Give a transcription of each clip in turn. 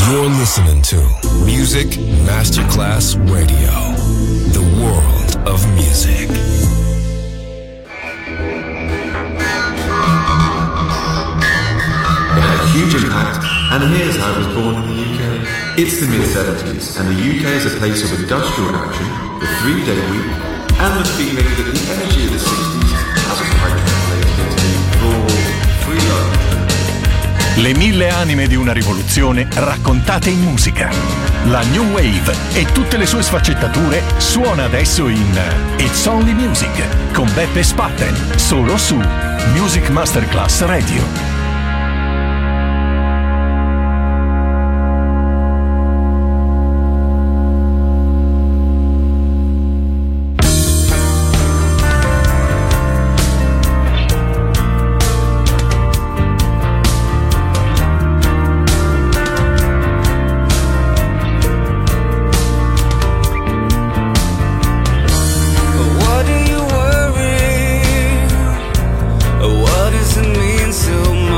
You're listening to Music Masterclass Radio, the world of music. It had a huge impact, and here's how it was born in the UK. It's the mid-70s, and the UK is a place of industrial action, the 3-day week, and the feeling that the energy of the 60s hasn't quite translated into raw, free love. Le 1000 anime di una rivoluzione raccontate in musica. La New Wave e tutte le sue sfaccettature suona adesso in It's Only Music con Beppe Spatten, solo su Music Masterclass Radio. What does it mean so much?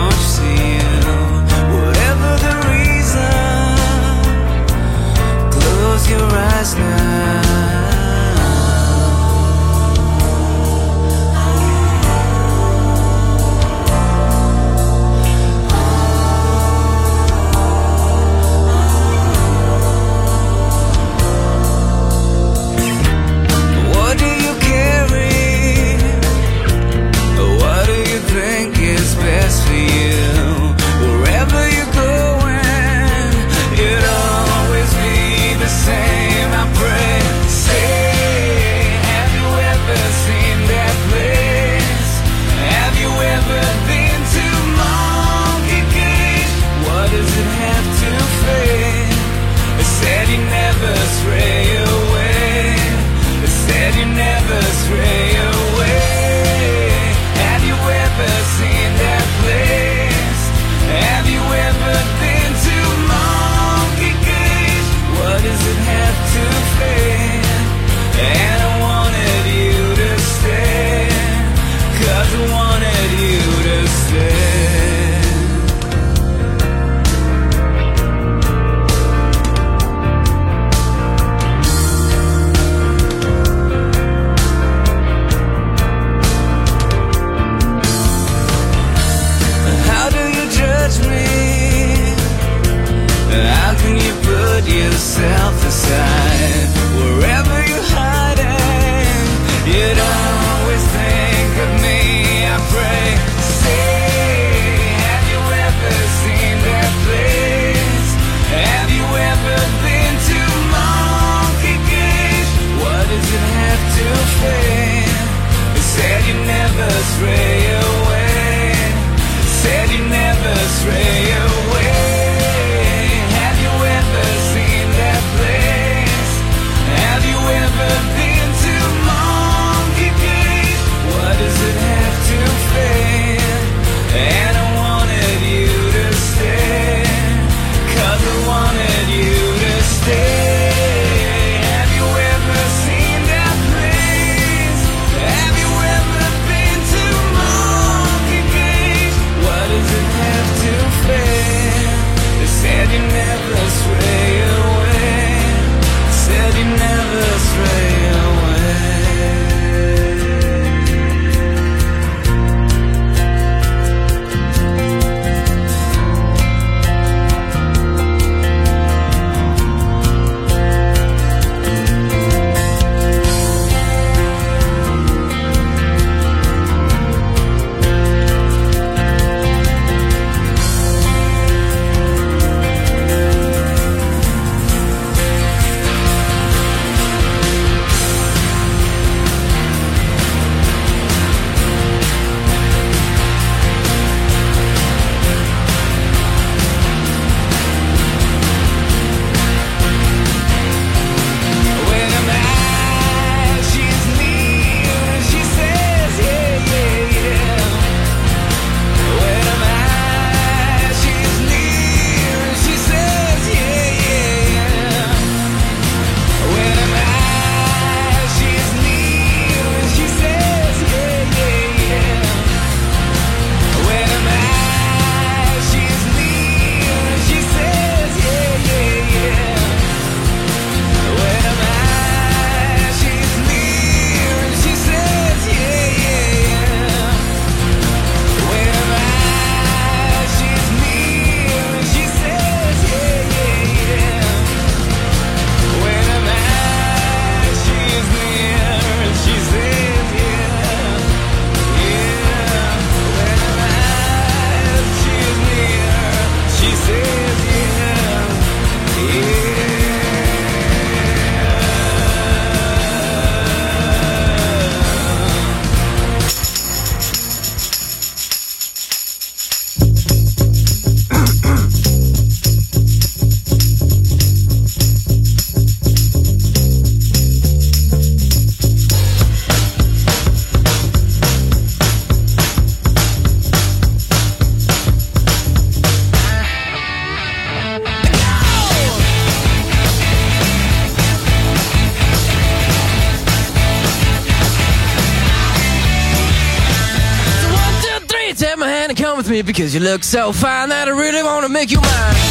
with me because you look so fine that I really wanna make you mine.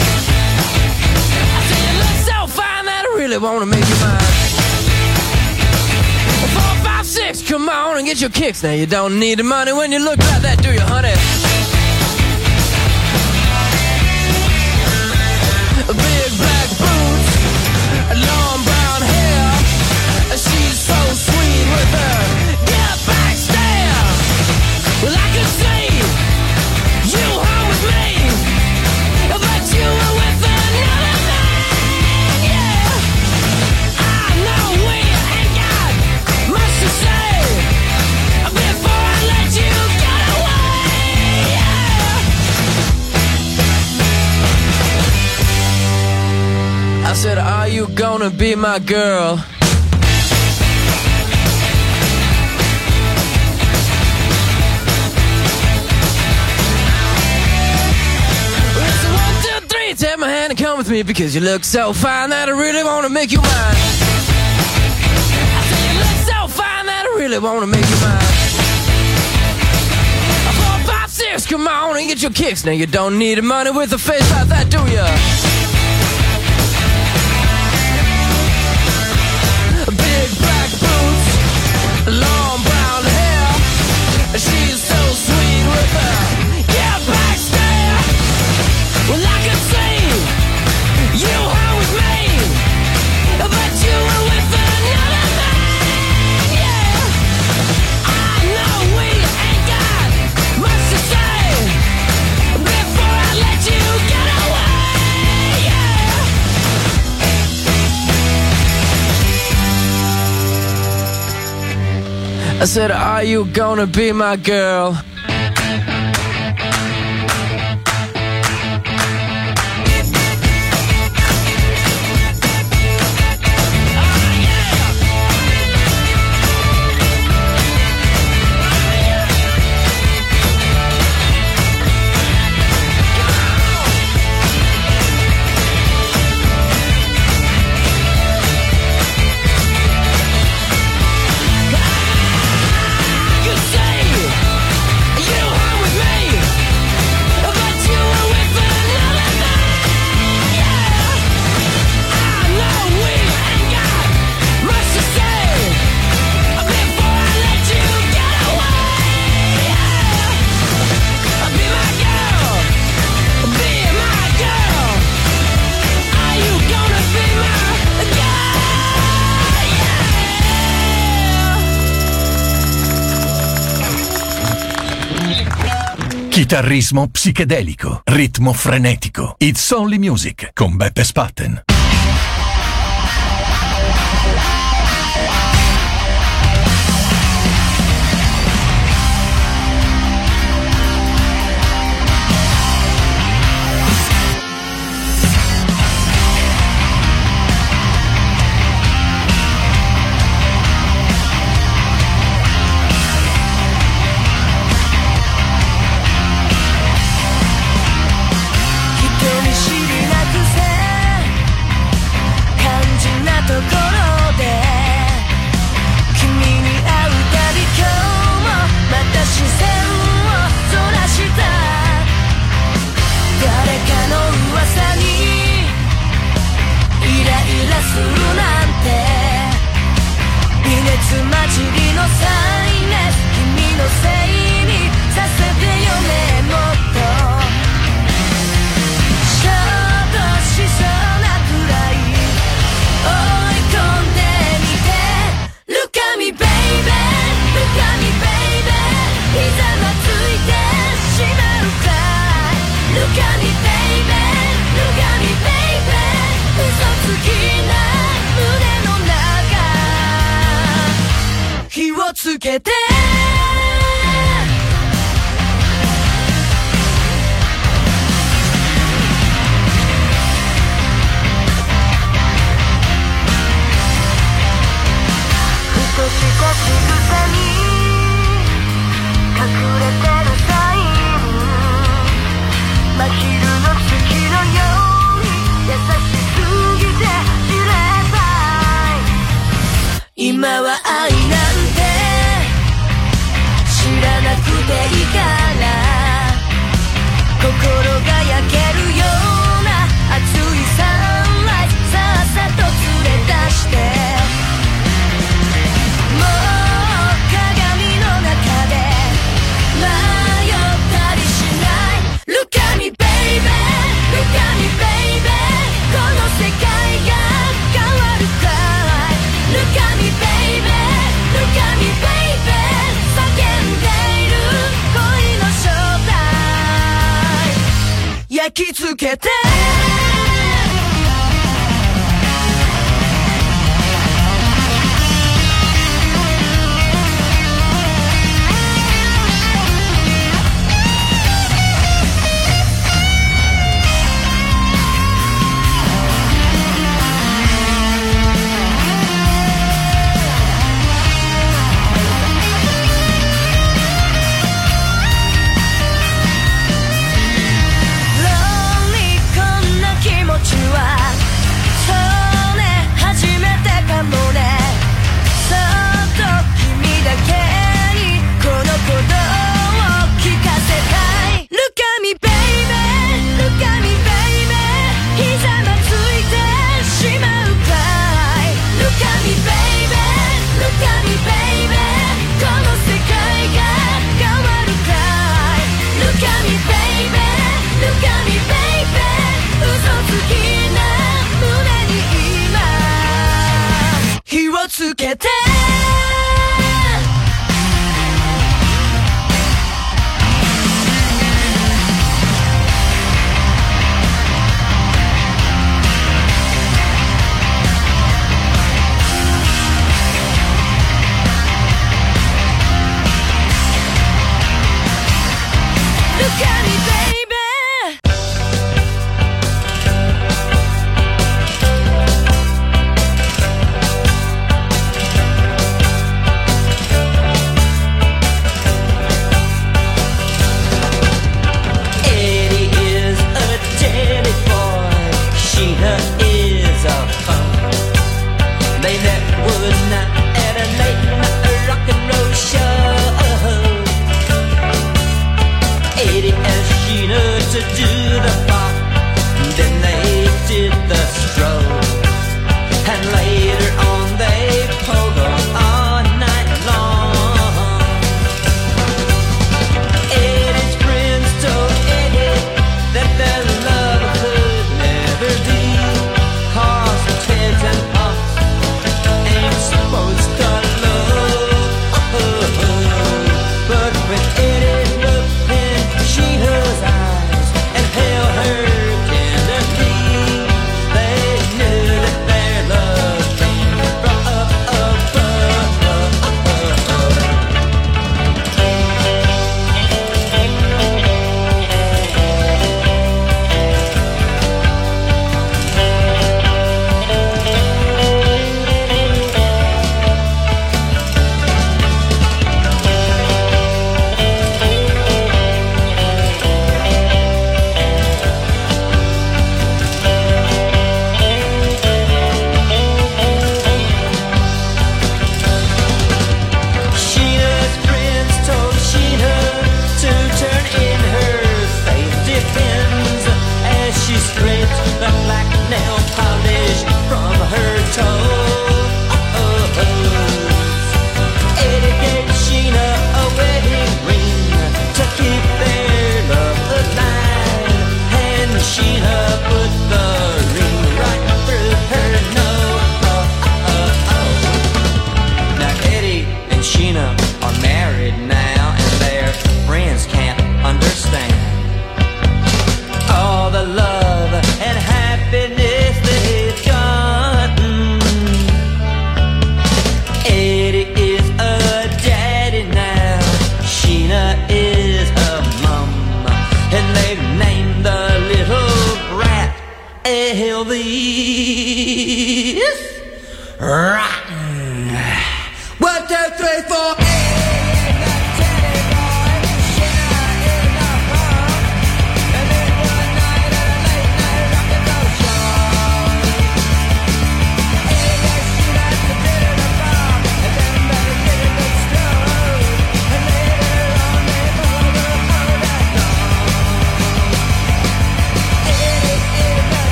I say you look so fine that I really wanna make you mine. 4, 5, 6, come on and get your kicks. Now you don't need the money when you look like that, do you, honey? Big black boots, long brown hair. She's so sweet with her get back stare. Well, I could see you home with me, but you were with another man, yeah. I know we ain't got much to say before I let you get away, yeah. I said, are you gonna be my girl? Take my hand and come with me because you look so fine that I really wanna make you mine. I say you look so fine that I really wanna make you mine. 4, 5, 6, come on and get your kicks. Now you don't need the money with a face like that, do ya? Big black boots, long brown hair. She's so sweet with her get back stare. Well, I could see you home with me, but you were with another man, yeah. I know we ain't got much to say before I let you get away, yeah. I said, are you gonna be my girl? Chitarrismo psichedelico, ritmo frenetico. It's Only Music con Beppe Spatten. きつけてつけて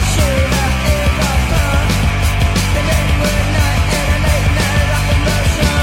Motion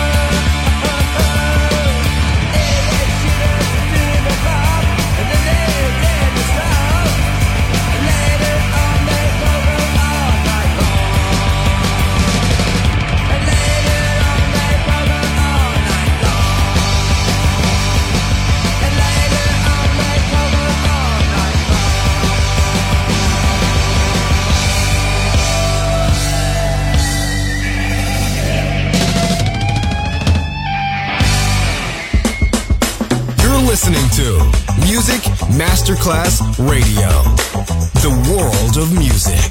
Masterclass Radio. The world of music.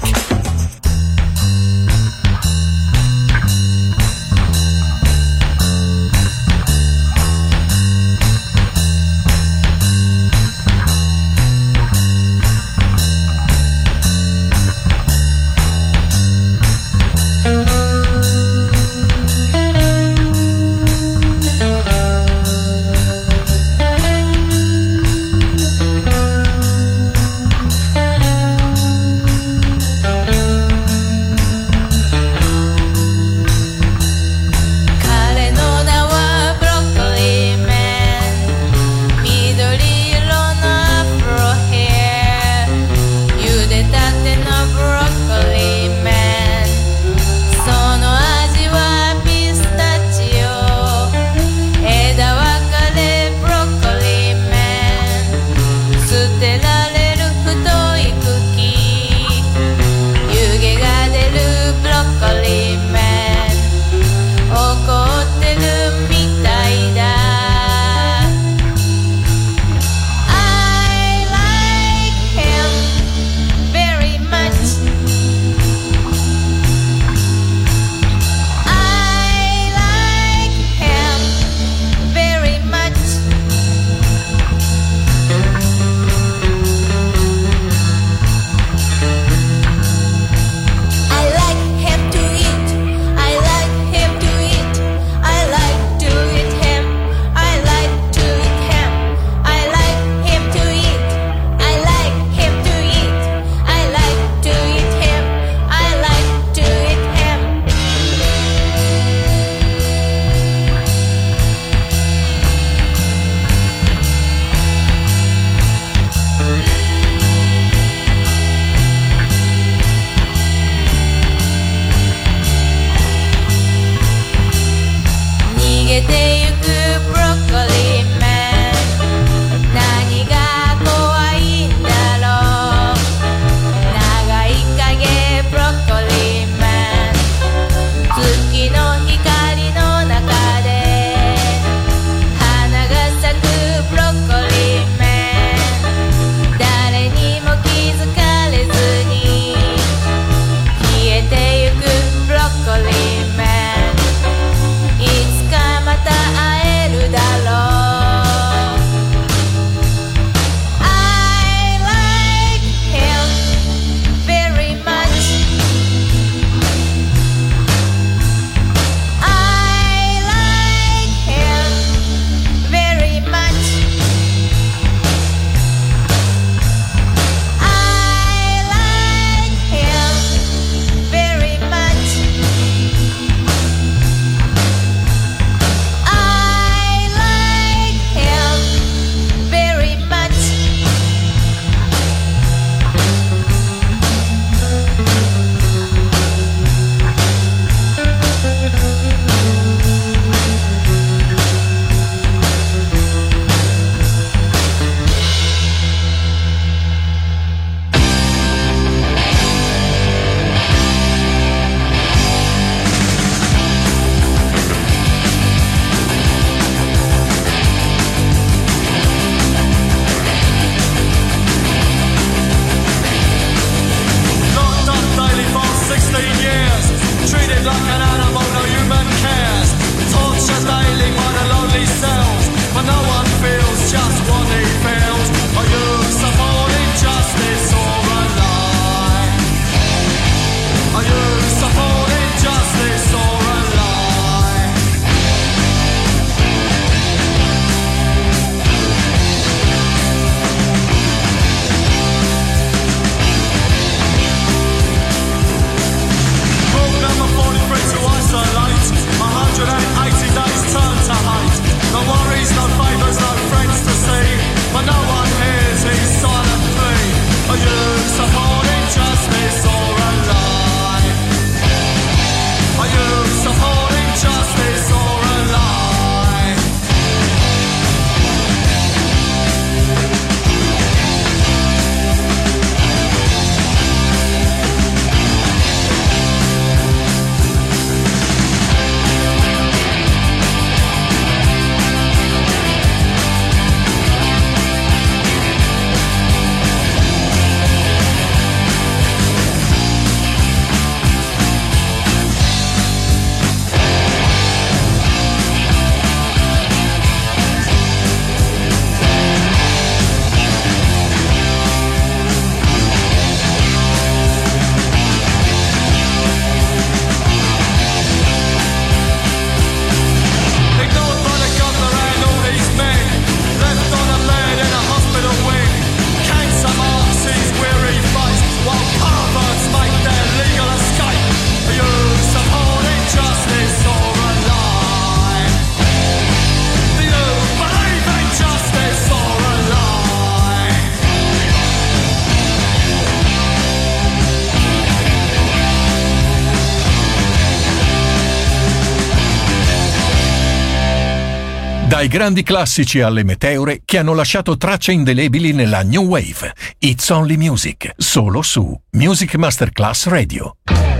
Dai grandi classici alle meteore che hanno lasciato tracce indelebili nella New Wave. It's Only Music, solo su Music Masterclass Radio.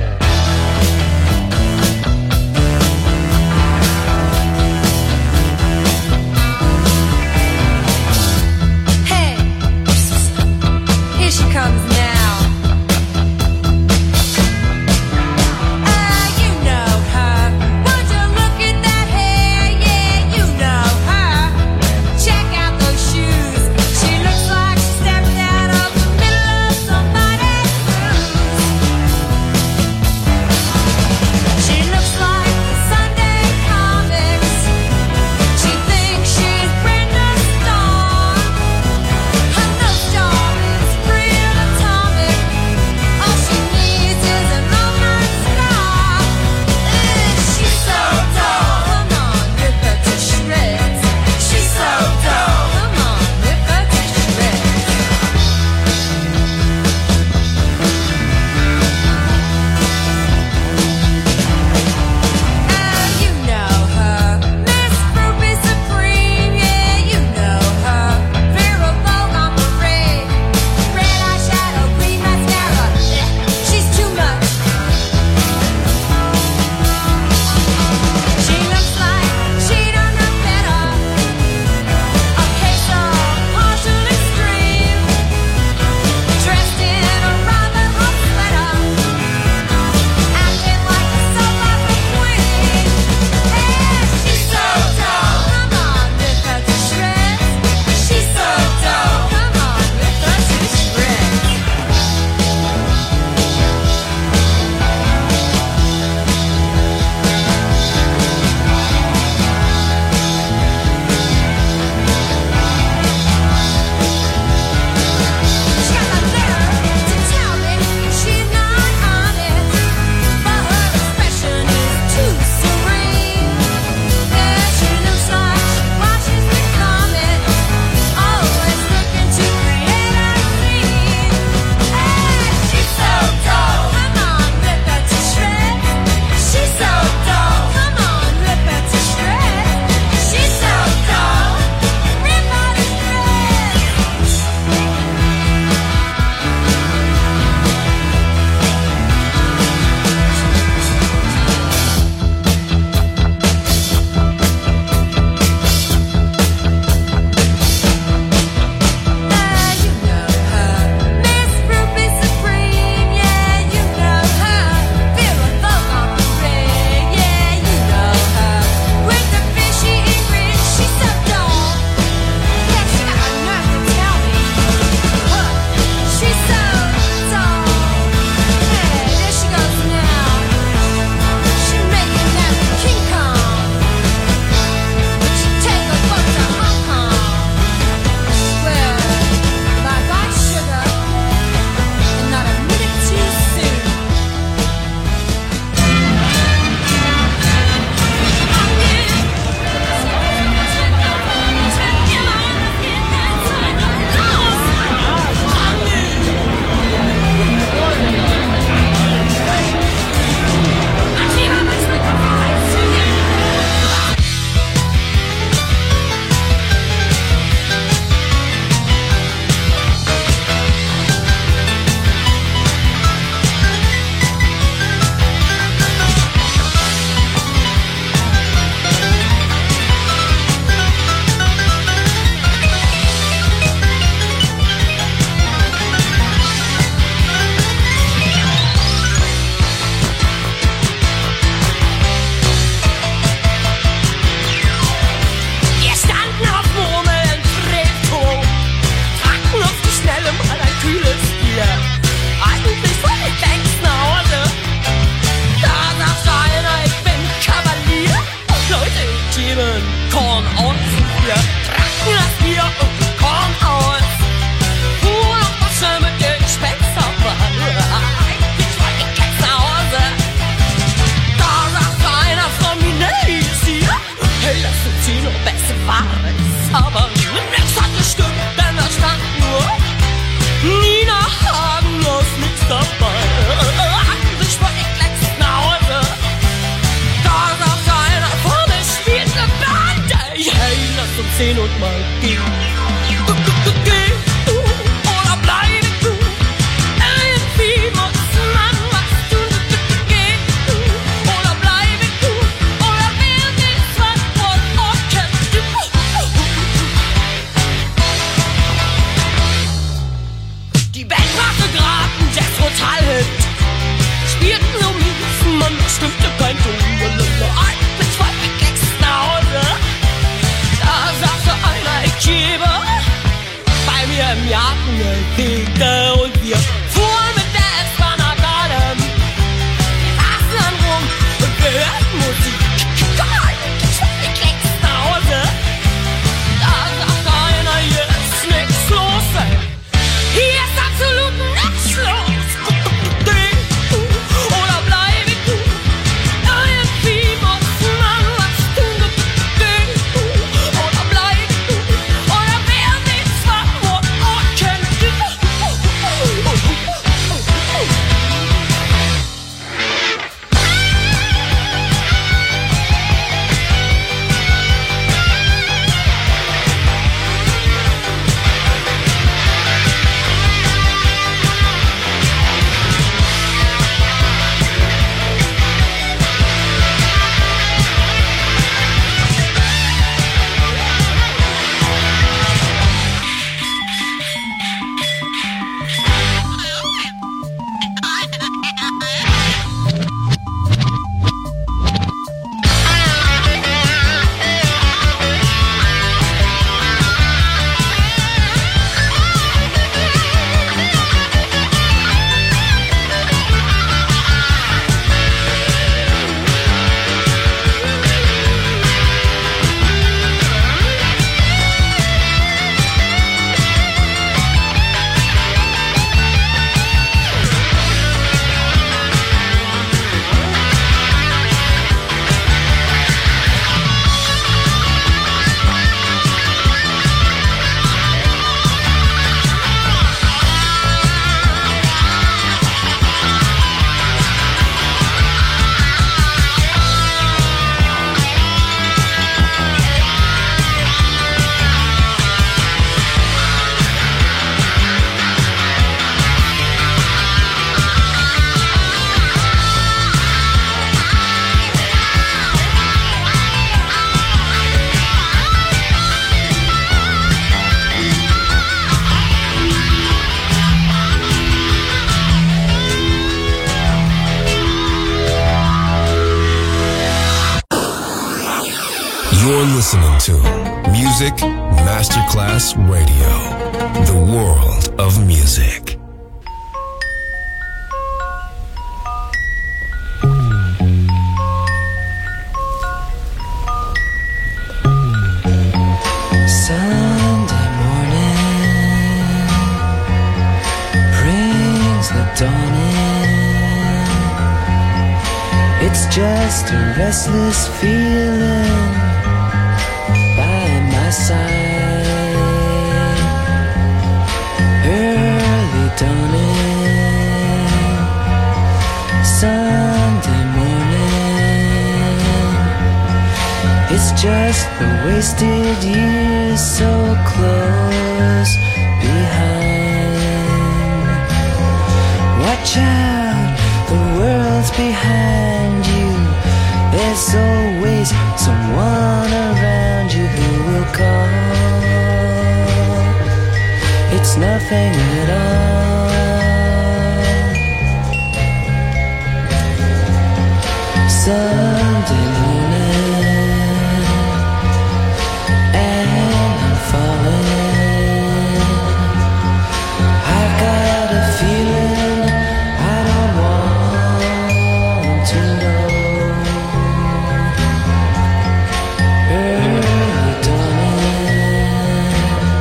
Hey, here she comes now. Die Band machte grad einen Jazz-Total-Hit. Spielten so mies, man stimmte kein Ton. Ein bis zwei Klicks nach Hause. Da sagte einer, ich gebe bei mir im Garten eine Theke. Und wir fuhren mit der S-Bahn nach Dahlem. Wir saßen dann rum und wir hörten Musik. Ein bis zwei Klicks nach Hause. Da sagte einer, hier ist nix los, ey. Hier ist absolut nichts los. Oder bleib ich du? Irgendwie muss man was tun. Oder bleib ich du? Oder wer sieht zwar nur Orken du? You're listening to Music Masterclass Radio, the world of music. Sunday morning brings the dawn in. It's just a restless feeling by my side. Early dawning, Sunday morning. It's just the wasted years so close behind. Watch out, the world's behind you. There's always someone around you who will call. It's nothing at all. Sunday morning, and I'm falling. I've got a feeling I don't want to know. Early dawning,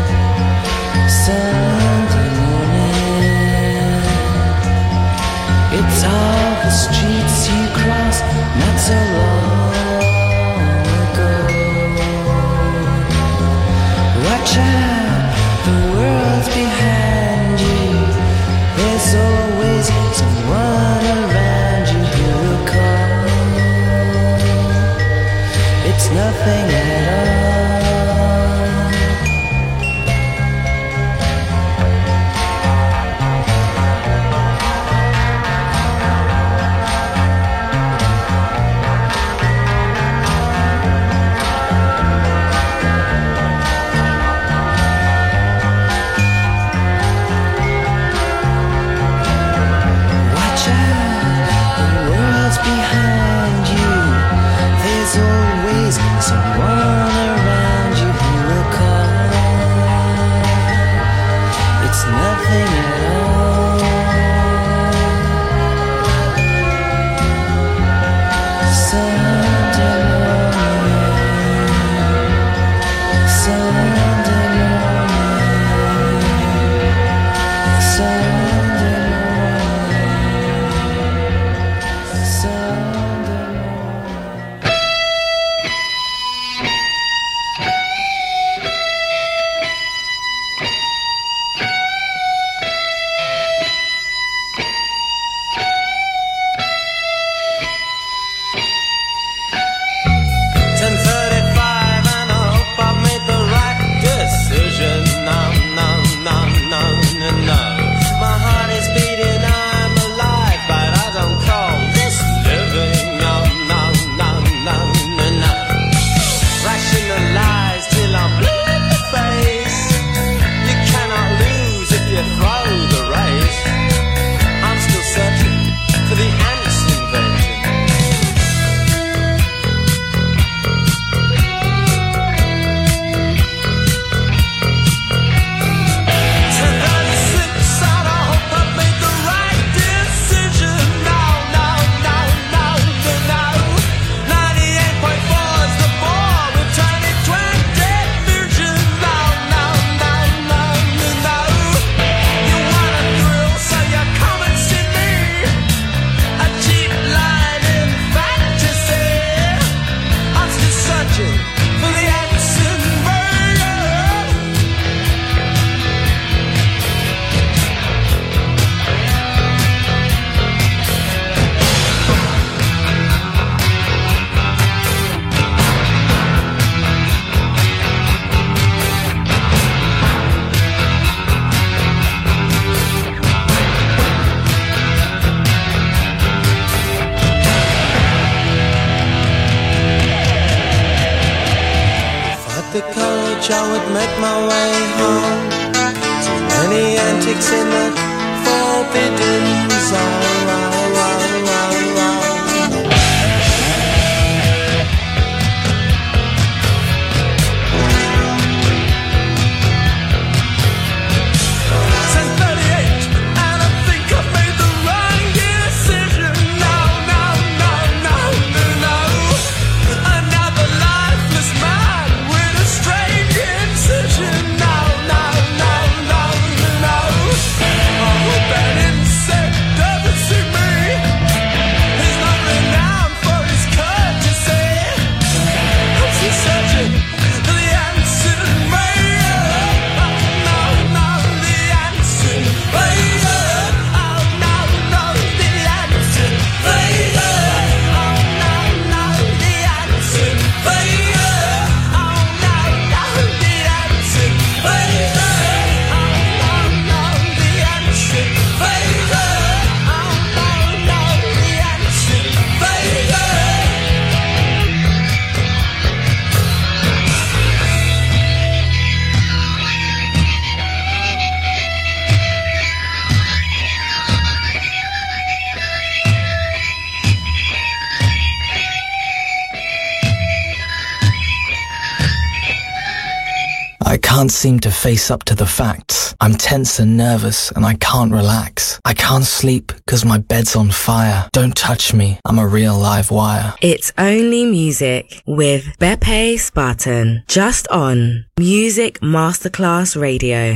Sunday morning. It's all the streets you crossed not so long ago. Watch out, the world's behind you. There's always someone around you who will call. It's nothing at all. I would make my way home. Too many antics in the forbidden zone. I can't seem to face up to the facts. I'm tense and nervous and I can't relax. I can't sleep because my bed's on fire. Don't touch me, I'm a real live wire. It's Only Music with Beppe Spartan, just on Music Masterclass Radio.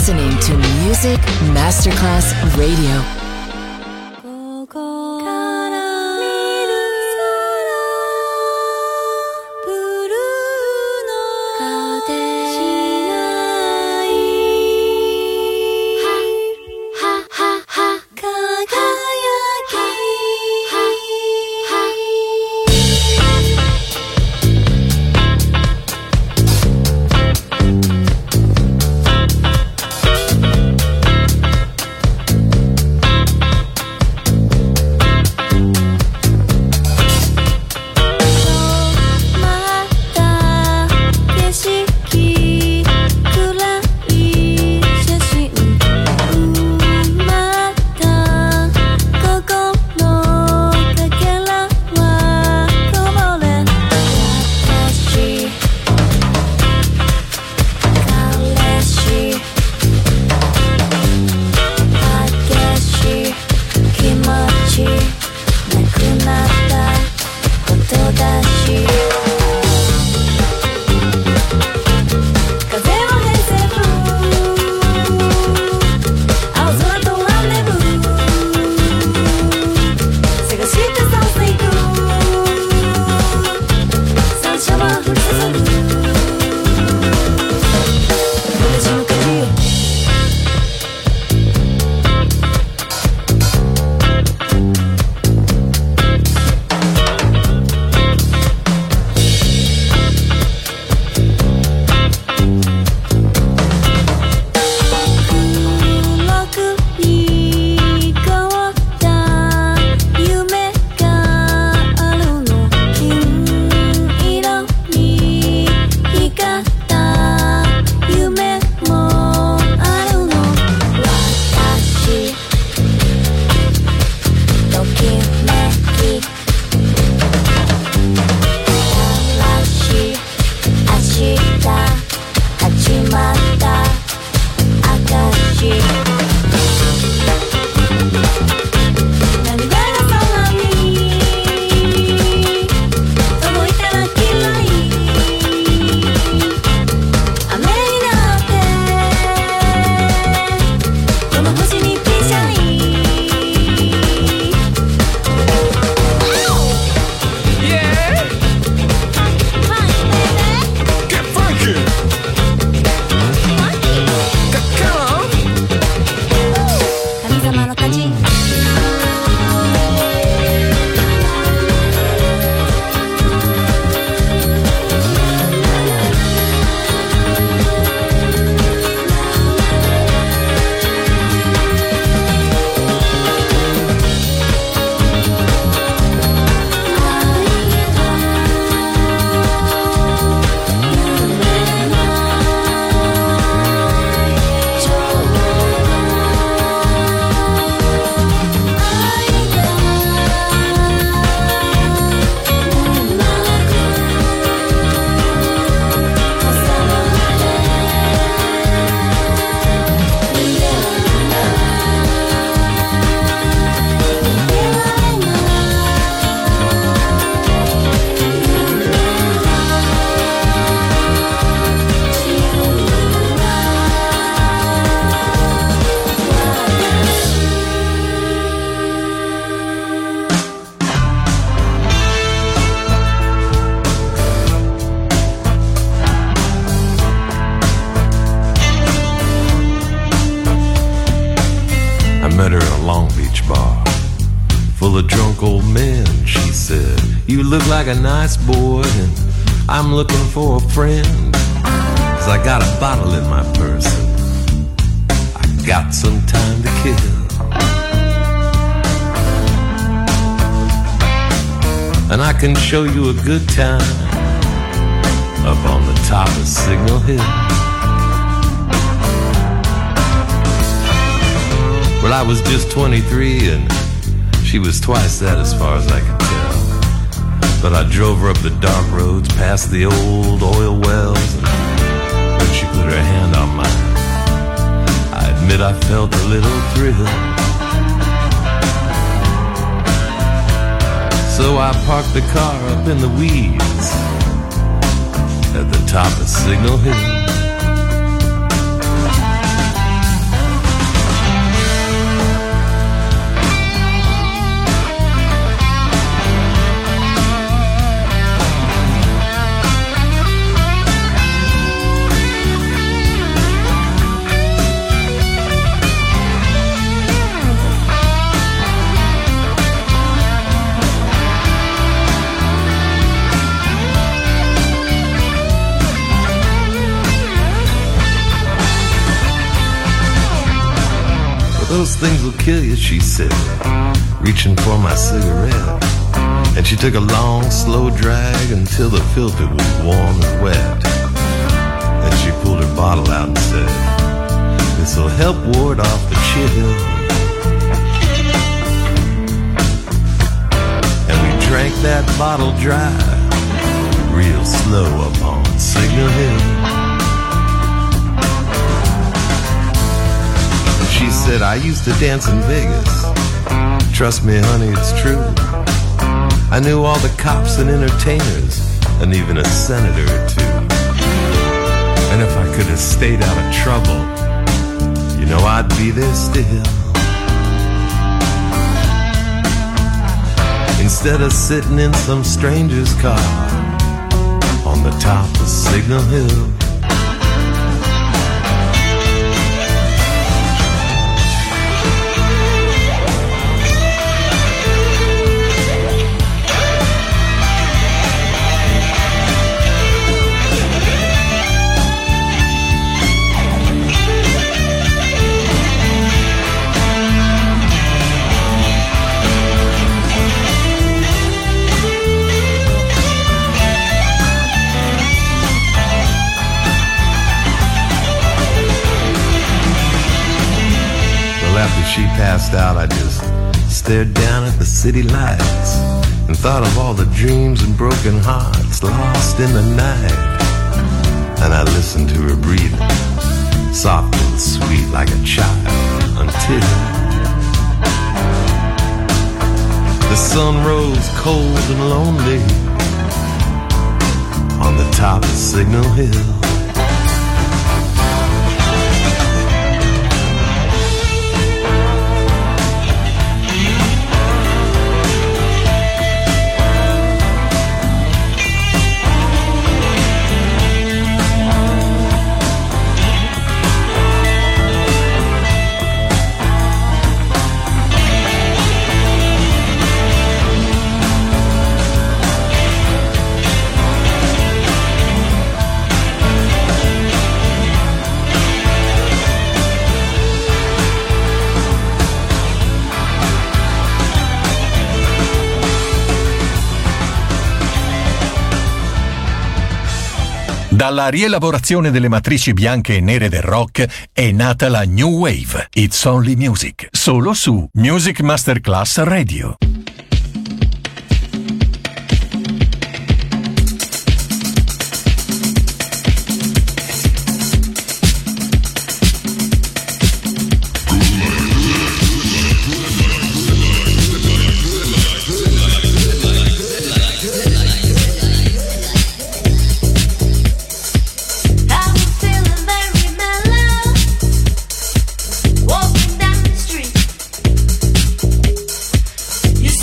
listening to Music Masterclass Radio. Look like a nice boy and I'm looking for a friend, 'cause I got a bottle in my purse and I got some time to kill. And I can show you a good time up on the top of Signal Hill. Well, I was just 23 and she was twice that as far as I could tell. But I drove her up the dark roads past the old oil wells, and when she put her hand on mine, I admit I felt a little thrill. So I parked the car up in the weeds at the top of Signal Hill. those things will kill you, she said, reaching for my cigarette. And she took a long, slow drag until the filter was warm and wet. Then she pulled her bottle out and said, this'll help ward off the chill. And we drank that bottle dry, real slow up on Signal Hill. She said, I used to dance in Vegas. Trust me, honey, it's true. I knew all the cops and entertainers, and even a senator or two. And if I could have stayed out of trouble, you know I'd be there still. Instead of sitting in some stranger's car on the top of Signal Hill. After she passed out, I just stared down at the city lights and thought of all the dreams and broken hearts lost in the night. And I listened to her breathing, soft and sweet like a child, until the sun rose cold and lonely on the top of Signal Hill. Dalla rielaborazione delle matrici bianche e nere del rock è nata la New Wave, It's Only Music, solo su Music Masterclass Radio. You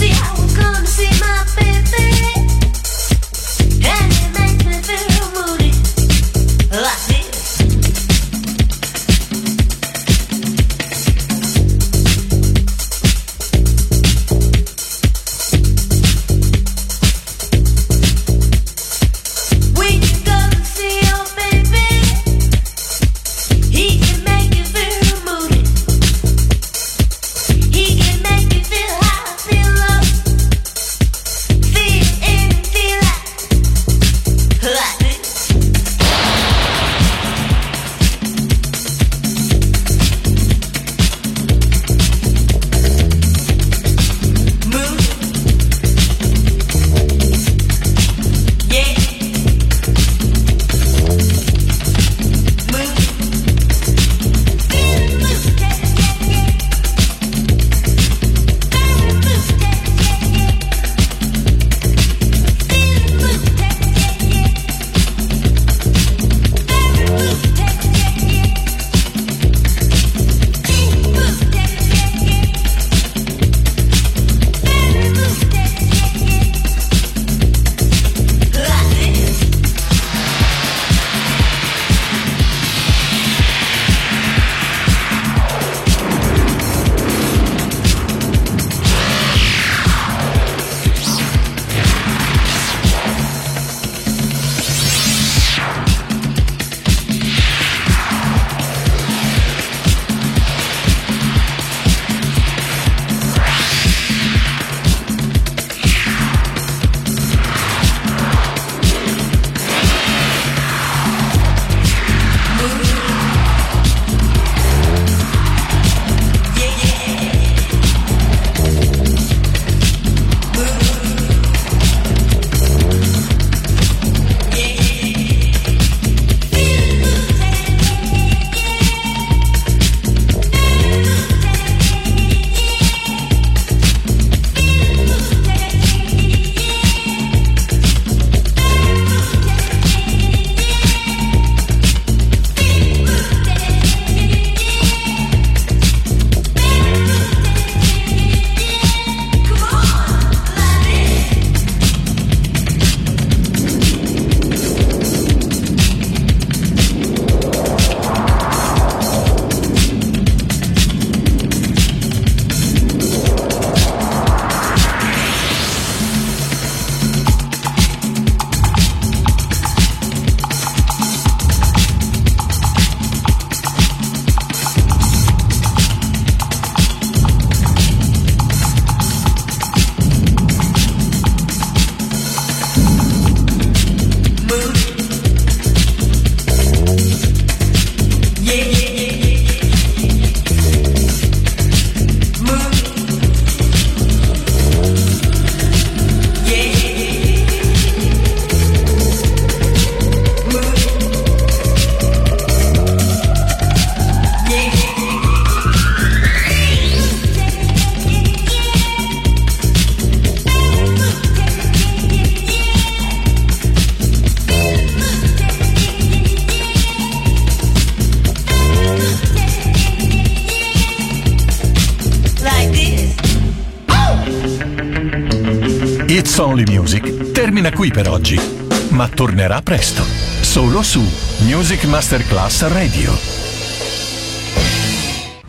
It's Only Music termina qui per oggi, ma tornerà presto, solo su Music Masterclass Radio.